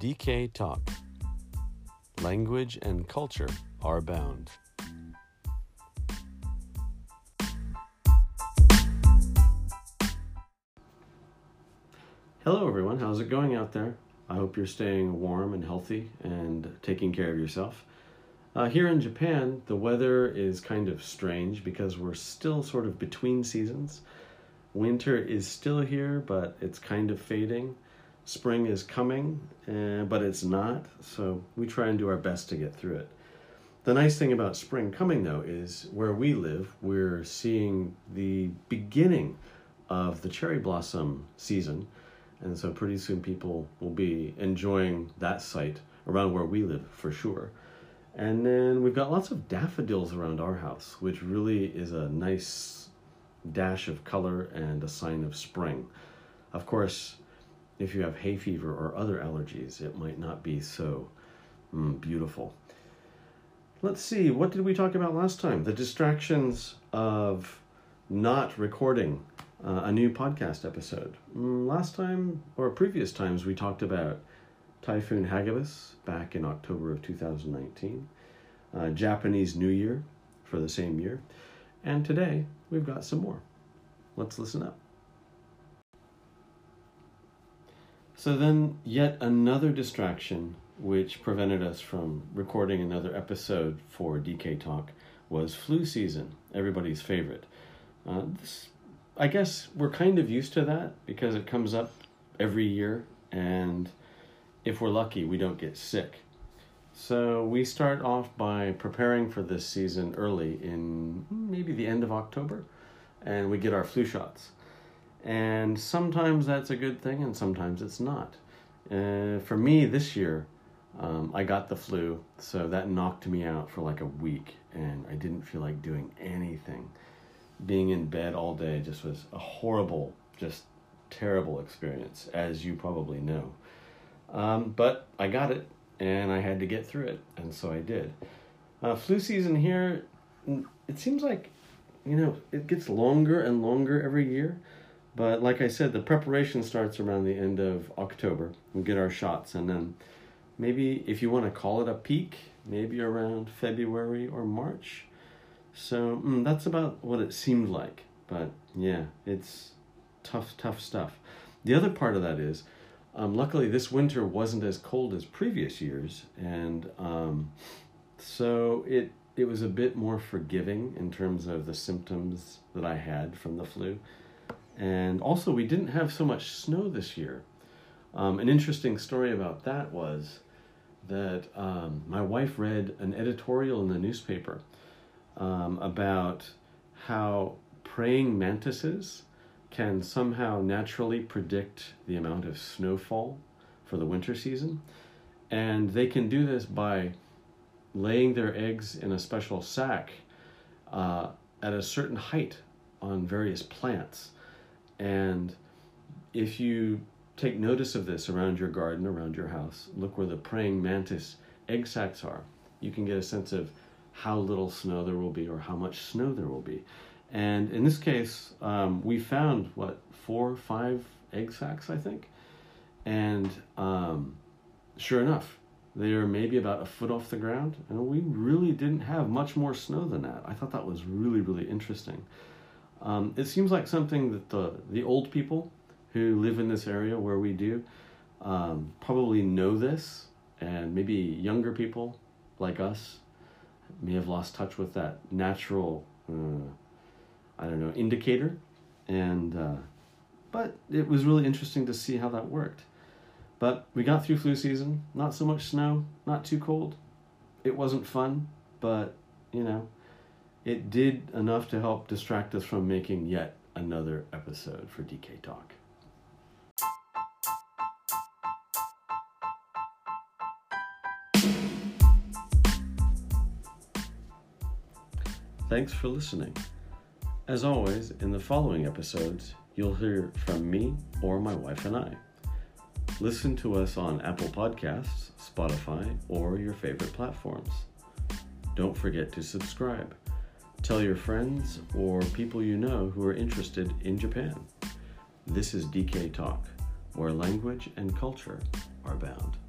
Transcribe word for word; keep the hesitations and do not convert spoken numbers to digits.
D K Talk. Language and culture are bound. Hello everyone, how's it going out there? I hope you're staying warm and healthy and taking care of yourself. Uh, here in Japan, the weather is kind of strange because we're still sort of between seasons. Winter is still here, but it's kind of fading. Spring is coming, uh, but it's not, so we try and do our best to get through it. The nice thing about spring coming, though, is where we live, we're seeing the beginning of the cherry blossom season, and so pretty soon people will be enjoying that sight around where we live for sure. And then we've got lots of daffodils around our house, which really is a nice dash of color and a sign of spring. Of course, if you have hay fever or other allergies, it might not be so mm, beautiful. Let's see, what did we talk about last time? The distractions of not recording uh, a new podcast episode. Mm, last time, or previous times, we talked about Typhoon Hagibis back in October of two thousand nineteen, uh, Japanese New Year for the same year, and today we've got some more. Let's listen up. So then, yet another distraction which prevented us from recording another episode for D K Talk was flu season, everybody's favorite. Uh, this, I guess we're kind of used to that because it comes up every year, and if we're lucky, we don't get sick. So we start off by preparing for this season early in maybe the end of October, and we get our flu shots. And sometimes that's a good thing, and sometimes it's not. Uh, for me this year, um, I got the flu, so that knocked me out for like a week, and I didn't feel like doing anything. Being in bed all day just was a horrible, just terrible experience, as you probably know. Um, but I got it, and I had to get through it, and so I did. Uh, flu season here, it seems like, you know, it gets longer and longer every year. But like I said, the preparation starts around the end of October. We get our shots, and then maybe if you want to call it a peak, maybe around February or March. So mm, that's about what it seemed like. But yeah, it's tough, tough stuff. The other part of that is, um, luckily this winter wasn't as cold as previous years, and um, so it it was a bit more forgiving in terms of the symptoms that I had from the flu. And also, we didn't have so much snow this year. Um, an interesting story about that was that um, my wife read an editorial in the newspaper um, about how praying mantises can somehow naturally predict the amount of snowfall for the winter season. And they can do this by laying their eggs in a special sack uh, at a certain height on various plants. And if you take notice of this around your garden, around your house, look where the praying mantis egg sacs are, you can get a sense of how little snow there will be or how much snow there will be. And in this case, um, we found, what, four, five egg sacs, I think? And um, sure enough, they are maybe about a foot off the ground, and we really didn't have much more snow than that. I thought that was really, really interesting. Um, it seems like something that the, the old people who live in this area where we do um, probably know this, and maybe younger people like us may have lost touch with that natural, uh, I don't know, indicator. And uh, but it was really interesting to see how that worked. But we got through flu season, not so much snow, not too cold. It wasn't fun, but, you know, it did enough to help distract us from making yet another episode for D K Talk. Thanks for listening. As always, in the following episodes, you'll hear from me or my wife and I. Listen to us on Apple Podcasts, Spotify, or your favorite platforms. Don't forget to subscribe. Tell your friends or people you know who are interested in Japan. This is D K Talk, where language and culture are bound.